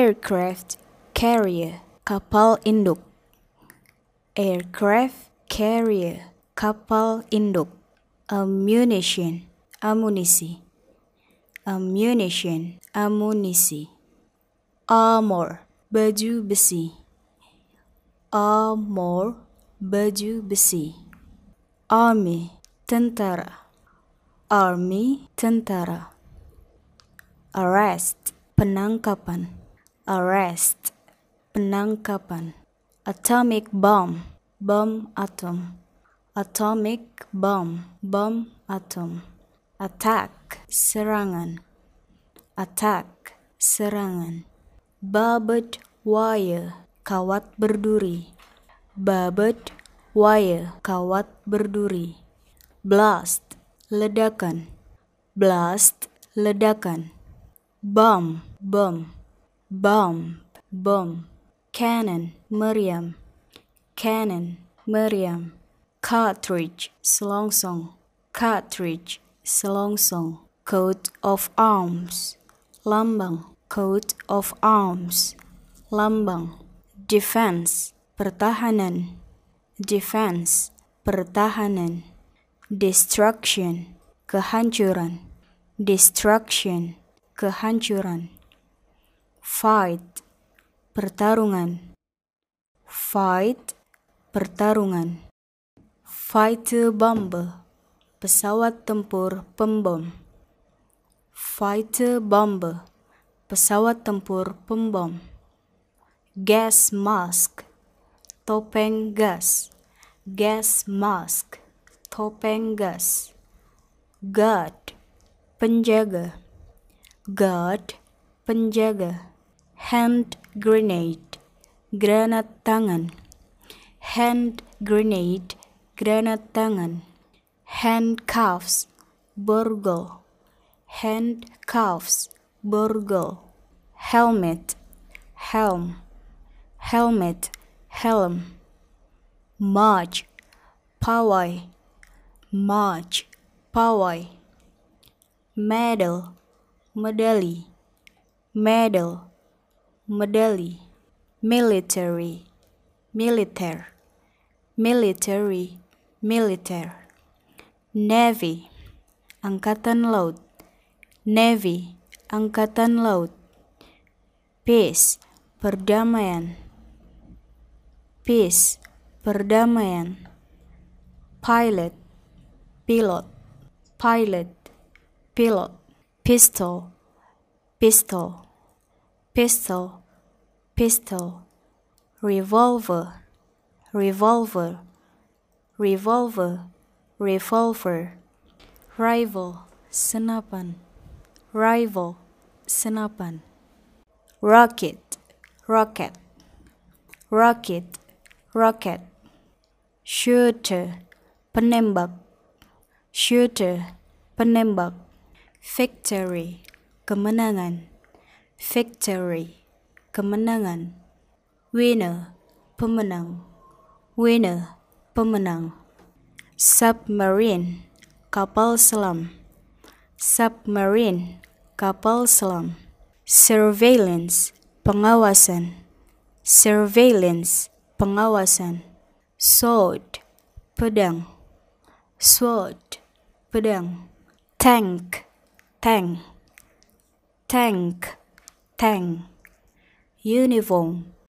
Aircraft carrier, kapal induk. Aircraft carrier, kapal induk. Ammunition, amunisi. Ammunition, amunisi. Armor, baju besi. Armor, baju besi. Army, tentara. Army, tentara. Arrest, penangkapan. Arrest, penangkapan. Atomic bomb, bom atom. Atomic bomb, bom atom. Attack, serangan. Attack, serangan. Barbed wire, kawat berduri. Barbed wire, kawat berduri. Blast, ledakan. Blast, ledakan. Bomb, bom. Bomb, bom. Cannon, meriam. Cannon, meriam. Cartridge, selongsong. Cartridge, selongsong. Coat of arms, lambang. Coat of arms, lambang. Defense, pertahanan. Defense, pertahanan. Destruction, kehancuran. Destruction, kehancuran. Fight, pertarungan. Fight, pertarungan. Fighter bomber, pesawat tempur pembom. Fighter bomber, pesawat tempur pembom. Gas mask, topeng gas. Gas mask, topeng gas. Guard, penjaga. Guard, penjaga. Hand grenade, granat tangan. Hand grenade, granat tangan. Handcuffs, borgol. Handcuffs, borgol. Helmet, helm. Helmet, helm. March, pawai. March, pawai. Medal, medali. Medal, medali. Military, militer. Military, militer. Navy, angkatan laut. Navy, angkatan laut. Peace, perdamaian. Peace, perdamaian. Pilot, pilot. Pilot, pilot. Pistol, pistol. Pistol, pistol. Revolver, revolver. Revolver, revolver. Rival, senapan. Rival, senapan. Rocket, rocket. Rocket, rocket. Shooter, penembak. Shooter, penembak. Victory, kemenangan. Victory, kemenangan. Winner, pemenang. Winner, pemenang. Submarine, kapal selam. Submarine, kapal selam. Surveillance, pengawasan. Surveillance, pengawasan. Sword, pedang. Sword, pedang. Tank, tank. Tank, tank. Uniform,